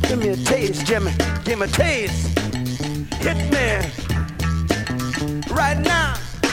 Give me a taste, Jimmy. Give me a taste. Hit me right now.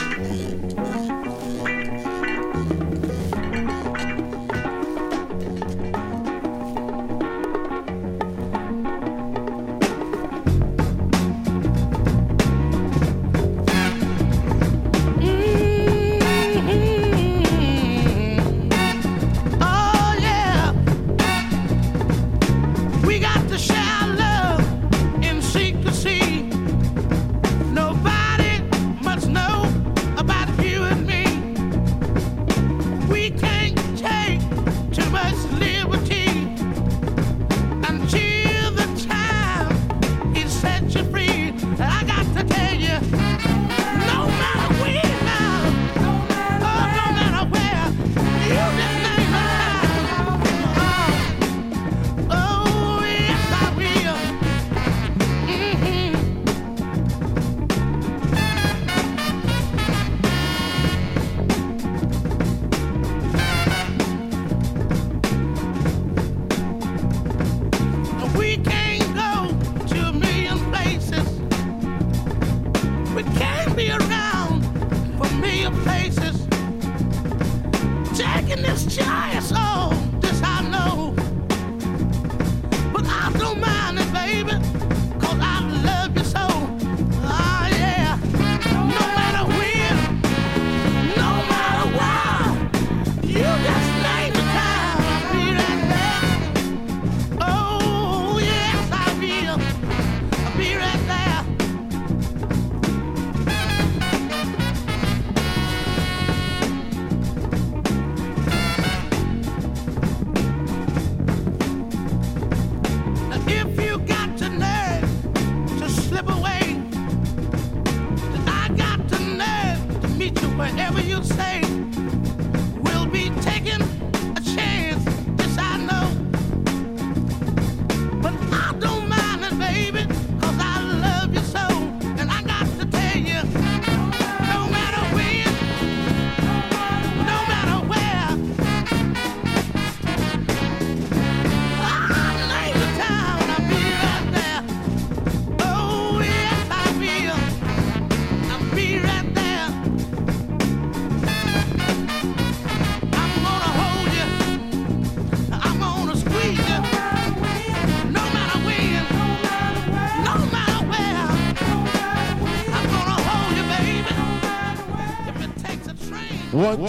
One,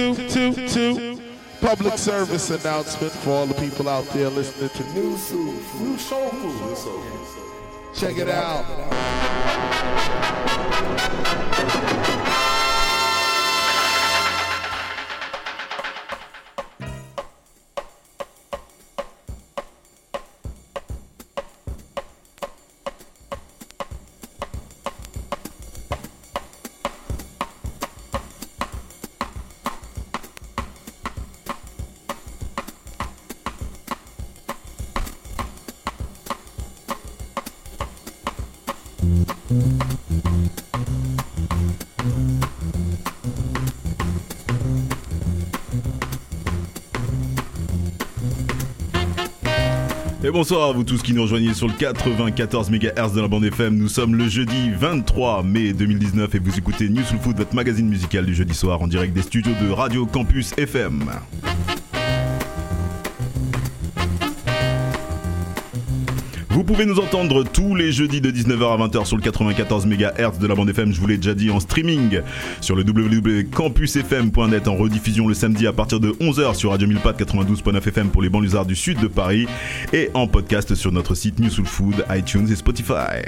two. Public service announcement for all the people out there listening to New Soul Food. Check it out. Et bonsoir à vous tous qui nous rejoignez sur le 94 MHz de la bande FM. Nous sommes le jeudi 23 mai 2019 et vous écoutez New Soul Food, votre magazine musical du jeudi soir en direct des studios de Radio Campus FM. Vous pouvez nous entendre tous les jeudis de 19h à 20h sur le 94 MHz de la bande FM, je vous l'ai déjà dit, en streaming sur le www.campusfm.net, en rediffusion le samedi à partir de 11h sur Radio Milpat 92.9 FM pour les banlieusards du sud de Paris et en podcast sur notre site New Soul Food, iTunes et Spotify.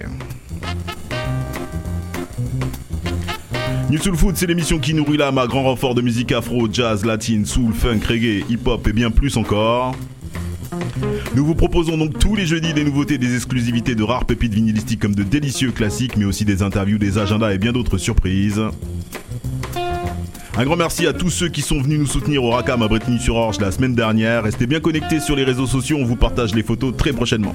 New Soul Food, c'est l'émission qui nourrit l'âme à grand renfort de musique afro, jazz, latine, soul, funk, reggae, hip-hop et bien plus encore. Nous vous proposons donc tous les jeudis des nouveautés, des exclusivités de rares pépites vinylistiques comme de délicieux classiques, mais aussi des interviews, des agendas et bien d'autres surprises. Un grand merci à tous ceux qui sont venus nous soutenir au Racam à Brétigny-sur-Orge la semaine dernière. Restez bien connectés sur les réseaux sociaux, on vous partage les photos très prochainement.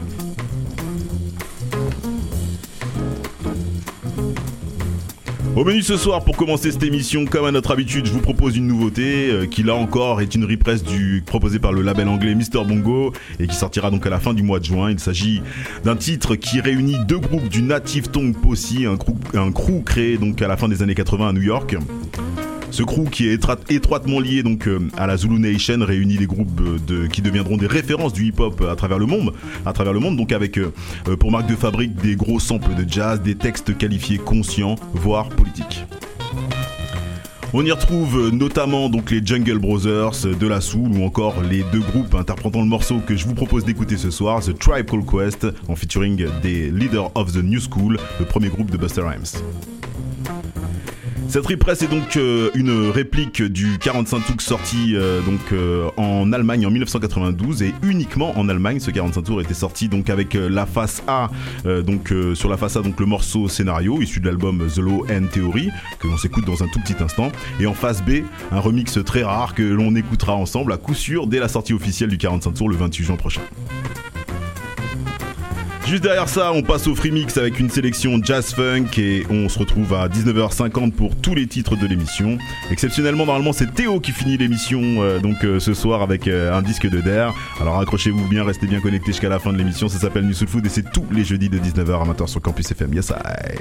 Au menu ce soir, pour commencer cette émission, comme à notre habitude, je vous propose une nouveauté qui là encore est une reprise proposée par le label anglais Mr Bongo et qui sortira donc à la fin du mois de juin. Il s'agit d'un titre qui réunit deux groupes du Native Tongue Posse, un crew créé donc à la fin des années 80 à New York. Ce crew qui est étroitement lié donc à la Zulu Nation réunit des groupes qui deviendront des références du hip-hop à travers le monde, donc avec pour marque de fabrique des gros samples de jazz, des textes qualifiés conscients, voire politiques. On y retrouve notamment donc les Jungle Brothers, De La Soul ou encore les deux groupes interprétant le morceau que je vous propose d'écouter ce soir, The Tribe Called Quest, en featuring des Leaders of the New School, le premier groupe de Busta Rhymes. Cette repress est donc une réplique du 45 tours sorti en Allemagne en 1992 et uniquement en Allemagne. Ce 45 tours était sorti donc avec la face A, sur la face A donc le morceau Scénario issu de l'album The Law and Theory que l'on s'écoute dans un tout petit instant, et en face B un remix très rare que l'on écoutera ensemble à coup sûr dès la sortie officielle du 45 tours le 28 juin prochain. Juste derrière ça, on passe au free mix avec une sélection jazz funk et on se retrouve à 19h50 pour tous les titres de l'émission. Exceptionnellement, normalement, c'est Théo qui finit l'émission ce soir avec un disque de Der. Alors accrochez-vous bien, restez bien connectés jusqu'à la fin de l'émission. Ça s'appelle New Soul Food et c'est tous les jeudis de 19h amateurs sur Campus FM. Yes, I.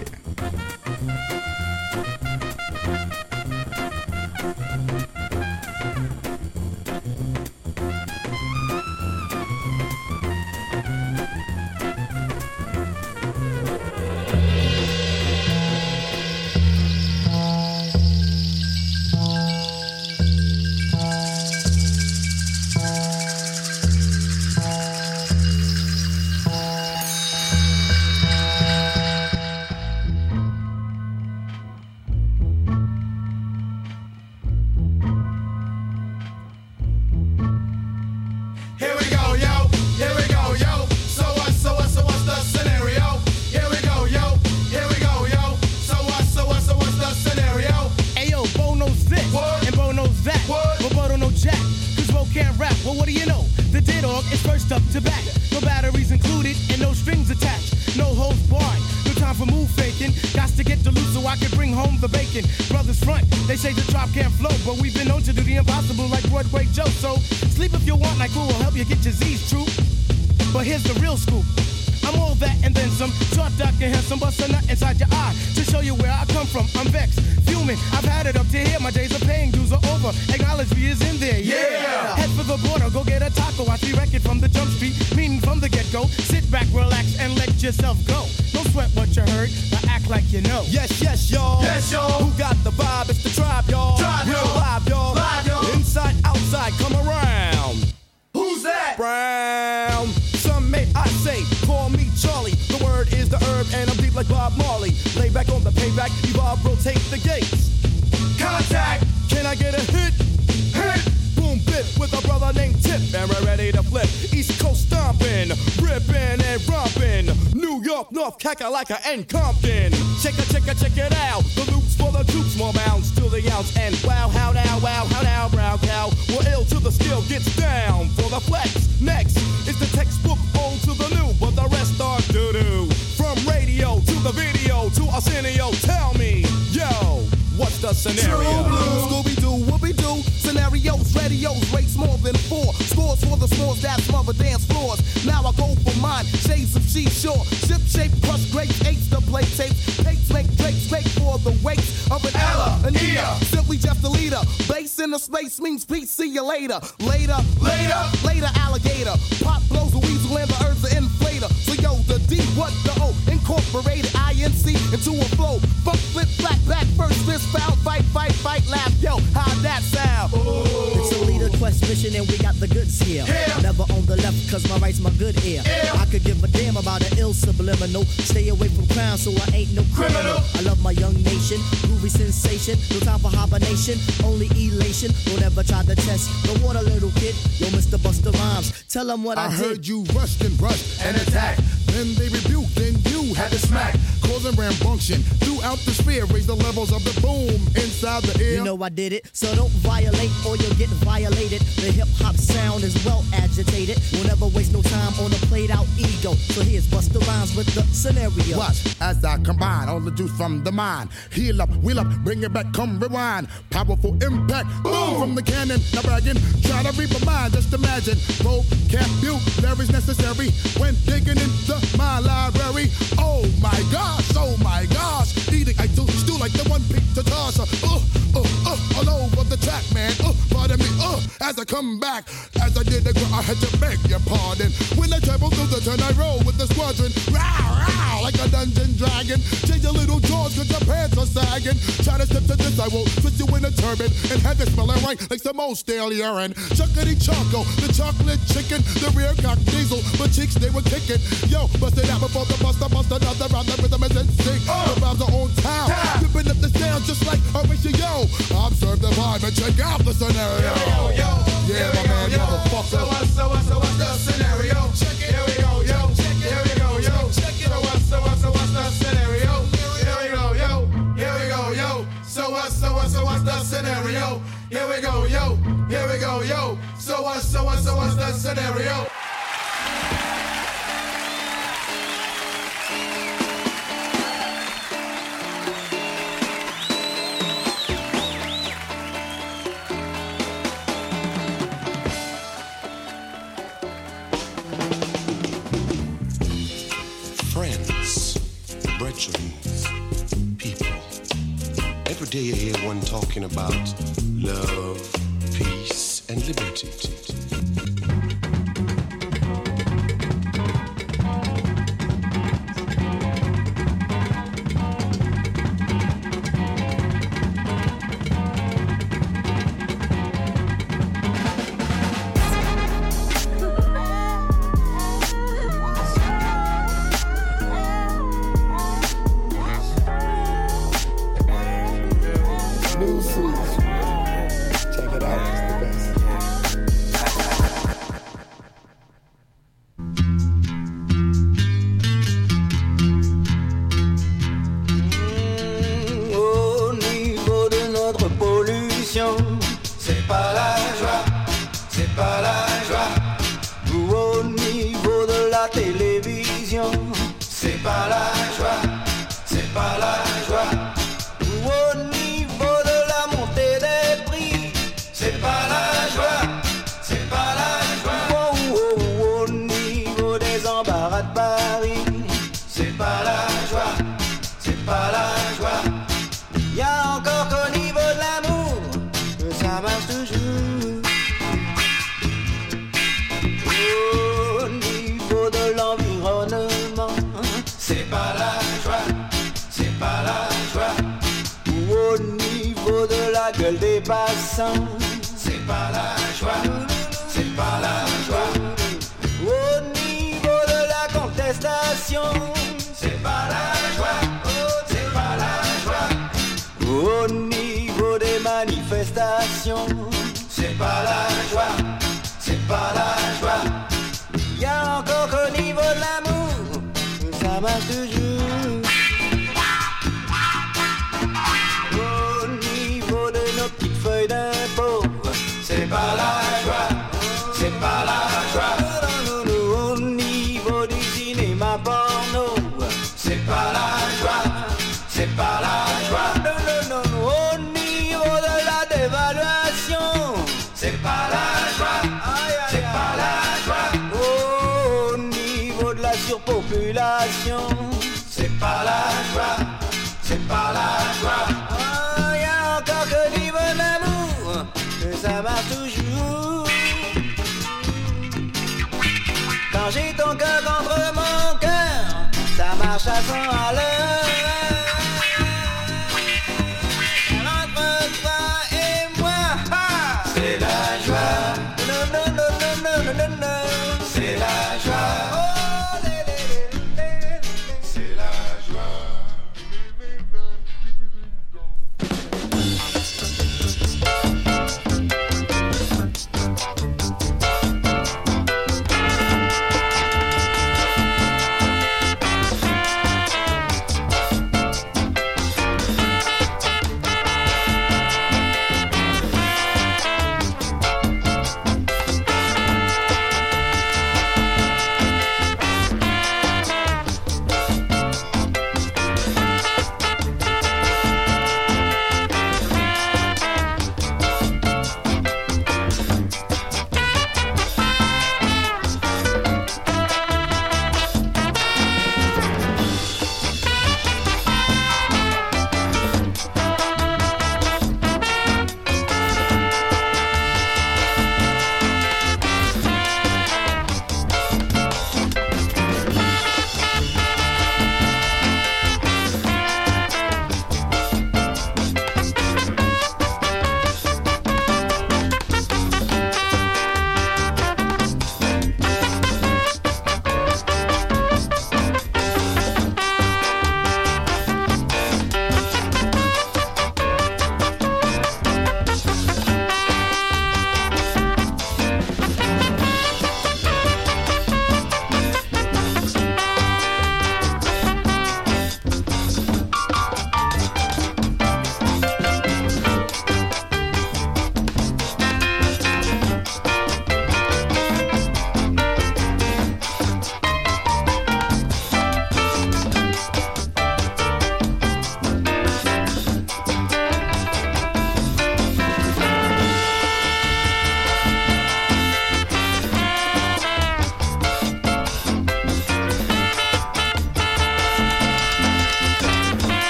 Kakalaka and Compton. Check it out. The loops for the troops, more bounds to the ounce. And wow, how now, brown cow. We're ill till the skill gets down for the flex. Next is the textbook old to the new, but the rest are doo-doo. From radio to the video to Arsenio, tell me, yo, what's the scenario? Scooby-Doo, whoopie-doo. Scenarios, radios, rates more than 4. Scores for the scores that smother dance floors. Now I go for mine, shades of seashore. Ship shape, crush grapes, eights to play tapes. Tapes make drapes, make for the weights of an Ella, an Ea. Simply just a leader. Base in the space means peace, see you later. Later, alligator. Pop blows a weasel and the herbs are inflator. So yo, the D, what the O? Incorporated INC into a flow. Funk, flip, flat, back, first, fist, foul, fight, laugh. Yo, how'd that sound? Ooh. It's a leader quest mission and we got the goods here. Yeah. Never on the left cause my right's my good ear. Yeah. I could give a damn about an ill subliminal. Stay away from crime so I ain't no criminal. I love my young nation, groovy sensation. No time for hibernation, only elation. Don't ever try to test the water, little kid. Yo, Mr. Busta Rhymes, tell them what I did. I heard you rushed and attacked. Then they rebuked, then you had to smack. Causing rambunction throughout the sphere. Raise the levels of the boom inside the ear. You know I did it, so don't violate or you'll get violated. The hip-hop sound is well agitated. We'll never waste no time on a played out ego. So here's Busta Rhymes with the scenario. Watch as I combine all the juice from the mind. Heal up, wheel up, bring it back, come rewind. Powerful impact, boom from the cannon. Now bragging, try to read my mind, just imagine. Vocabulary's necessary when digging into my library. Oh my gosh, eating I do stew like the one pizza tosser. All over the track, man. Pardon me, as I come back. As I did the girl, I had to beg your pardon. When I travel through the turn, I roll with the squadron. Row, like a dungeon dragon. Change your little jaws cause your pants are sagging. Try to step to this, I will twist you in a turban and have it smelling right like some old stale urine. Chuckity choco, the chocolate chicken, the rear cock diesel, but cheeks they were kicking. Yo, bust it out before the bust another round. The rhythm is in sync. The vibes are on town, ripping up the sound just like Horatio. Observe the vibe and check out the scenario. Yeah, my man, motherfucker. So what's the scenario? Check it. Here we go, yo. Check it. Here we go, yo. Check it. So what's the scenario? Here we go, yo. Here we go, yo. So what's the scenario? Here we go, yo. Here we go, yo. So what's the scenario? People. Every day you hear one talking about love, peace, and liberty. Des passants, c'est pas la joie, c'est pas la joie. Au niveau de la contestation, c'est pas la joie, c'est pas la joie. Au niveau des manifestations, c'est pas la joie, c'est pas la joie. Y'a encore qu'au niveau de l'amour, ça marche toujours. C'est pas la joie, c'est pas la joie. Au niveau du cinéma porno, c'est pas la joie, c'est pas la joie. Au niveau de la dévaluation, c'est pas la joie, c'est pas la joie. Au niveau de la surpopulation, c'est pas la joie, c'est pas la joie. Y'a encore que niveau de l'amour, ça marche toujours. Quand j'ai ton cœur contre mon cœur, ça marche à 100 à l'heure. Entre toi et moi, c'est la joie. Non. C'est la joie. C'est la joie.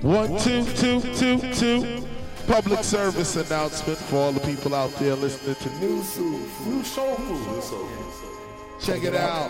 1, 2, 2, 2, 2. Public service announcement for all the people out there listening to New Soul Food. Check it out.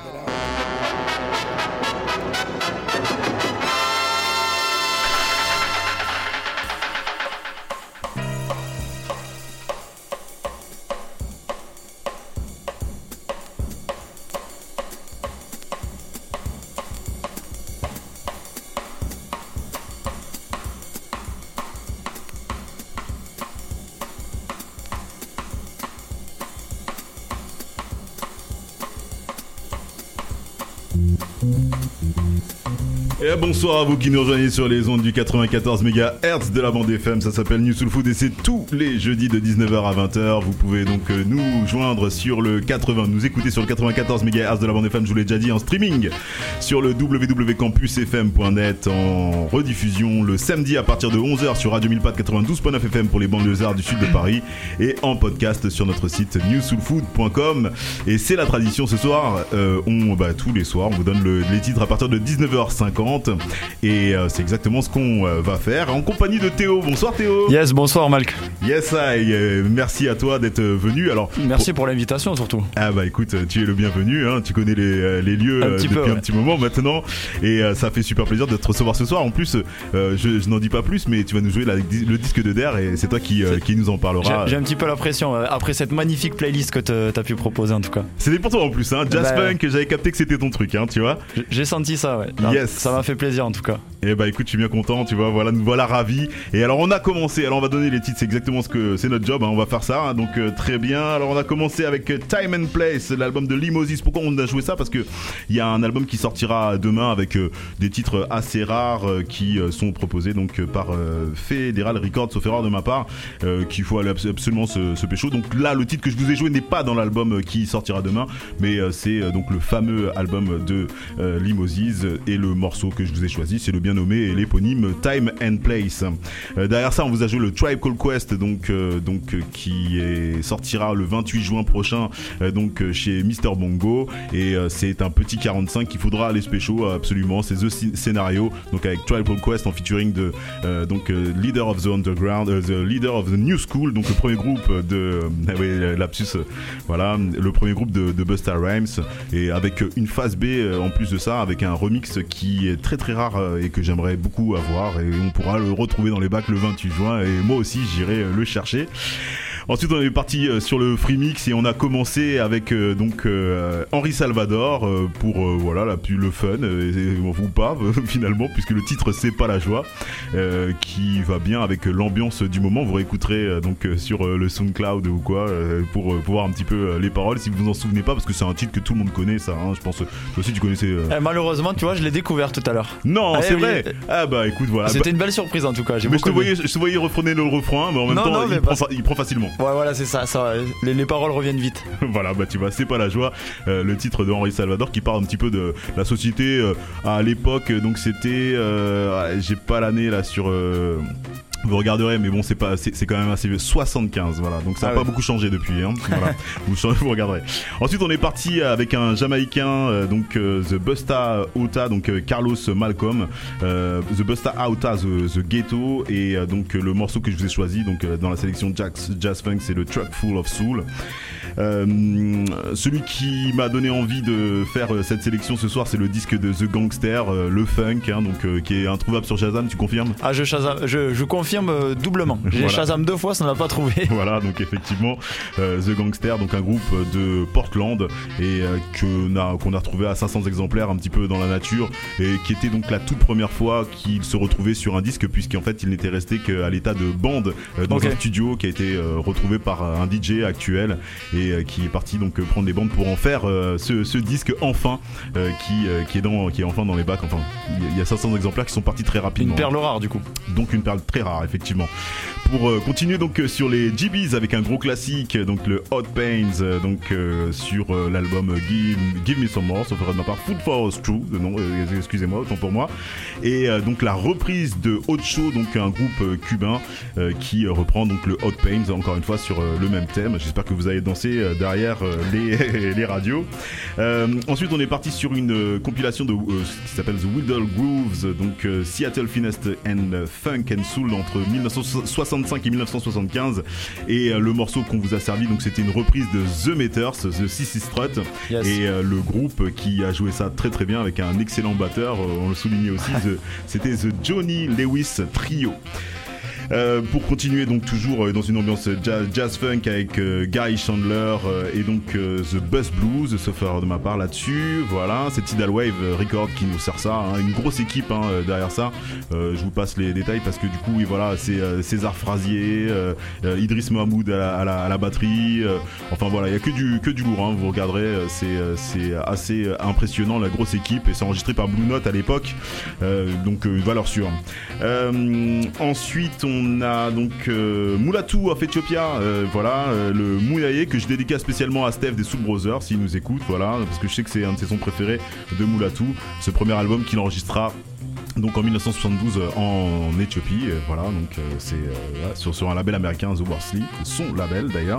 Et bonsoir à vous qui nous rejoignez sur les ondes du 94 MHz de la bande FM. Ça s'appelle New Soul Food et c'est tous les jeudis de 19h à 20h. Vous pouvez donc nous joindre sur le 80, nous écouter sur le 94 MHz de la bande FM, je vous l'ai déjà dit, en streaming sur le www.campusfm.net, en rediffusion le samedi à partir de 11h sur Radio Milpat 92.9 FM pour les banlieusards du sud de Paris et en podcast sur notre site newsoulfood.com. Et c'est la tradition ce soir, tous les soirs on vous donne les titres à partir de 19h50 et c'est exactement ce qu'on va faire en compagnie de Théo. Bonsoir Théo. Yes, bonsoir Malk. Yes, merci à toi d'être venu. Alors merci pour l'invitation surtout. Ah bah écoute, tu es le bienvenu, hein. Tu connais les lieux depuis un petit moment maintenant et ça fait super plaisir de te recevoir ce soir. En plus je n'en dis pas plus, mais tu vas nous jouer le disque de Der et c'est toi qui nous en parlera. J'ai un petit peu la pression après cette magnifique playlist que t'as pu proposer en tout cas. C'était pour toi en plus, hein. Jazz Funk, j'avais capté que c'était ton truc, hein, tu vois. J'ai senti ça, ouais. Yes. Ça m'a fait plaisir en tout cas. Et bah écoute, je suis bien content, tu vois, nous voilà ravis. Et alors on a commencé, alors on va donner les titres, c'est exactement ce que c'est notre job, hein, on va faire ça, hein, donc très bien. Alors on a commencé avec Time and Place, l'album de Limosis. Pourquoi on a joué ça? Parce que il y a un album qui sortira demain avec des titres assez rares qui sont proposés donc par Federal Records, sauf erreur de ma part, qu'il faut aller absolument se pécho. Donc là, le titre que je vous ai joué n'est pas dans l'album qui sortira demain, mais c'est donc le fameux album de Limosis et le morceau que je vous ai choisi, c'est le bien nommé et l'éponyme Time and Place. Derrière ça, on vous a joué le Tribe Called Quest, qui sortira le 28 juin prochain, chez Mr Bongo, et c'est un petit 45 qu'il faudra aller spéciaux absolument. C'est The Scenario, donc avec Tribe Called Quest en featuring de Leader of the Underground, the Leader of the New School, donc le premier groupe de lapsus, le premier groupe de Busta Rhymes, et avec une phase B en plus de ça, avec un remix qui est très très rare et que j'aimerais beaucoup avoir, et on pourra le retrouver dans les bacs le 28 juin et moi aussi j'irai le chercher. Ensuite on est parti sur le free mix et on a commencé avec Henri Salvador pour le fun ou pas finalement, puisque le titre c'est pas la joie, qui va bien avec l'ambiance du moment. Vous réécouterez sur le SoundCloud ou quoi pour voir un petit peu les paroles si vous vous en souvenez pas, parce que c'est un titre que tout le monde connaît, ça, hein, je pense. Toi aussi tu connaissais. Malheureusement tu vois, je l'ai découvert tout à l'heure. Non, c'est vrai. Ah bah écoute, voilà. C'était une belle surprise en tout cas. Mais je te voyais refréner le refrain, mais en même temps il prend facilement. Ouais, voilà, c'est ça les paroles reviennent vite. Voilà, bah tu vois, c'est pas la joie. Le titre de Henri Salvador qui parle un petit peu de la société à l'époque, donc c'était j'ai pas l'année là sur vous regarderez, mais bon, c'est quand même assez vieux. 75, voilà. Donc ça a pas beaucoup changé depuis, hein. Voilà. vous regarderez. Ensuite, on est parti avec un Jamaïcain, The Busta Outa, Carlos Malcolm, The Busta Outa, The Ghetto, et le morceau que je vous ai choisi, dans la sélection Jazz Funk, c'est le Truck Full of Soul. Celui qui m'a donné envie de faire cette sélection ce soir, c'est le disque de The Gangster, le funk, hein, qui est introuvable sur Shazam. Tu confirmes? Ah, je confirme doublement. J'ai Shazam 2 fois, ça n'a pas trouvé. Voilà, donc effectivement, The Gangster, un groupe de Portland et qu'on a retrouvé à 500 exemplaires un petit peu dans la nature, et qui était donc la toute première fois qu'il se retrouvait sur un disque, puisqu'en fait il n'était resté qu'à l'état de bande dans un studio qui a été retrouvé par un DJ actuel, et qui est parti prendre les bandes pour en faire ce disque enfin, qui est enfin dans les bacs. Enfin, il y a 500 exemplaires qui sont partis très rapidement. Une perle rare du coup. Donc une perle très rare effectivement. pour continuer donc sur les GBs avec un gros classique, donc le Hot Pains, sur l'album Give Me Some More, sauf erreur de ma part, Food for Us True, non, excusez-moi, autant pour moi. Et donc la reprise de Hot Show, donc un groupe cubain qui reprend donc le Hot Pains, encore une fois sur le même thème. J'espère que vous allez danser derrière les radios. Ensuite, on est parti sur une compilation de qui s'appelle The Whittle Grooves, donc Seattle Finest and Funk and Soul entre 1965 et 1975. Et le morceau qu'on vous a servi, donc c'était une reprise de The Meters, The Sissy Strut, yes. Et le groupe qui a joué ça très très bien avec un excellent batteur, on le soulignait aussi, c'était The Johnny Lewis Trio. Pour continuer donc toujours dans une ambiance jazz funk avec Guy Chandler et donc The Bus Blues, sauf erreur de ma part là-dessus. Voilà, c'est Tidal Wave Record qui nous sert ça, une grosse équipe derrière ça. Je vous passe les détails parce que du coup oui, voilà, c'est César Frazier, Idriss Mahmoud à la batterie, enfin voilà, il y a que du lourd, vous regarderez, c'est assez impressionnant la grosse équipe, et c'est enregistré par Blue Note à l'époque, donc valeur sûre. Ensuite on a donc Mulatu of Ethiopia, le Mouyaye que je dédicace spécialement à Steph des Soul Brothers s'il nous écoute, voilà, parce que je sais que c'est un de ses sons préférés de Mulatu, ce premier album qu'il enregistra donc en 1972 en Éthiopie, voilà, donc c'est sur un label américain, The Worsley, son label d'ailleurs.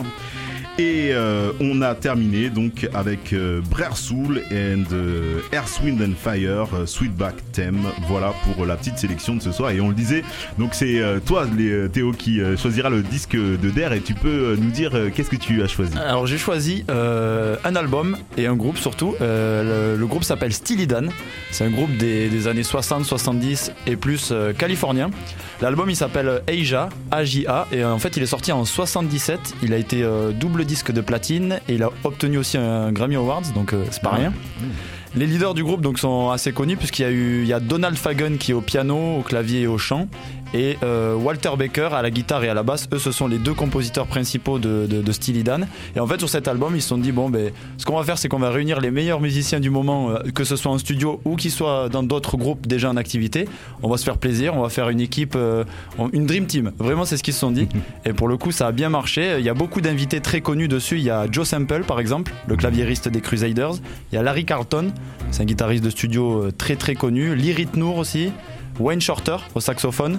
Et on a terminé donc avec Brer Soul and Earth, Wind and Fire, Sweetback Theme. Voilà pour la petite sélection de ce soir. Et on le disait, donc c'est toi Théo qui choisira le disque de Der, et tu peux nous dire qu'est-ce que tu as choisi. Alors j'ai choisi un album et un groupe surtout. Le groupe s'appelle Steely Dan. C'est un groupe des années 60, 70 et plus californien. L'album il s'appelle Aja, A-J-A, et en fait il est sorti en 77. Il a été double disque de platine et il a obtenu aussi un Grammy Awards, donc c'est pas rien. Les leaders du groupe donc sont assez connus puisqu'il y a Donald Fagen qui est au piano, au clavier et au chant, et Walter Baker à la guitare et à la basse. Eux, ce sont les deux compositeurs principaux de Steely Dan. Et en fait, sur cet album, ils se sont dit ce qu'on va faire, c'est qu'on va réunir les meilleurs musiciens du moment, que ce soit en studio ou qu'ils soient dans d'autres groupes déjà en activité. On va se faire plaisir, on va faire une équipe, une dream team. Vraiment, c'est ce qu'ils se sont dit. Et pour le coup, ça a bien marché. Il y a beaucoup d'invités très connus dessus. Il y a Joe Sample, par exemple, le claviériste des Crusaders. Il y a Larry Carlton, c'est un guitariste de studio très très connu. Lee Ritenour aussi. Wayne Shorter au saxophone.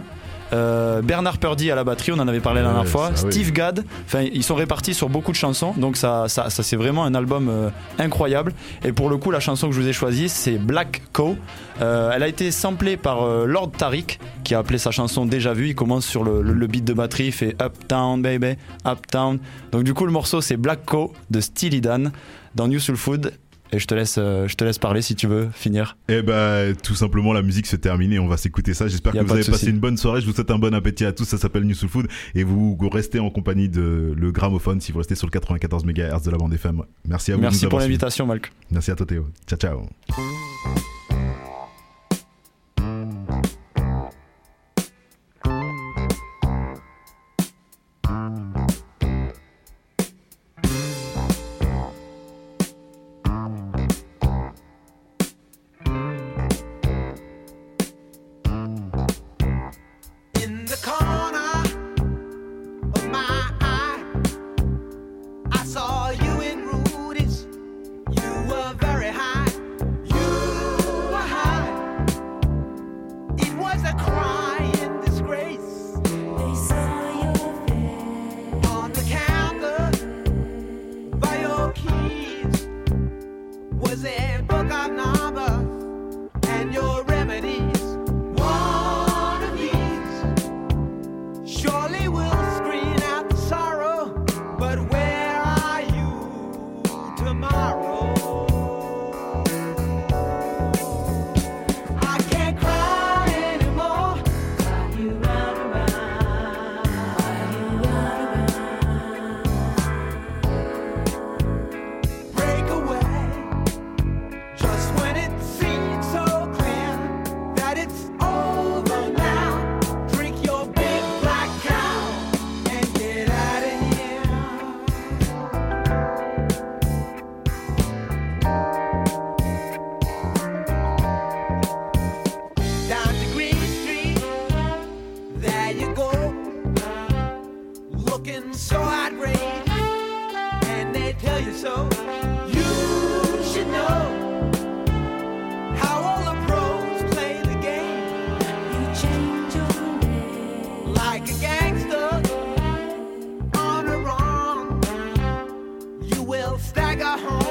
Bernard Purdy à la batterie, on en avait parlé la dernière fois. Steve Gadd, ils sont répartis sur beaucoup de chansons, donc ça c'est vraiment un album incroyable. Et pour le coup, la chanson que je vous ai choisie, c'est Black Cow. Elle a été samplée par Lord Tariq, qui a appelé sa chanson Déjà Vu. Il commence sur le beat de batterie, il fait Uptown baby, Uptown. Donc du coup le morceau c'est Black Cow de Steely Dan dans New Soul Food. Et je te laisse parler si tu veux finir. Eh ben, tout simplement, la musique se termine et on va s'écouter ça. J'espère que vous avez passé une bonne soirée. Je vous souhaite un bon appétit à tous. Ça s'appelle New Soul Food et vous restez en compagnie de le gramophone si vous restez sur le 94 MHz de la bande FM. Merci à vous. Merci pour l'invitation, Malk. Merci à toi, Théo. Ciao, ciao. tell you so. You should know how all the pros play the game. You change your name like a gangster on a run. You will stagger home.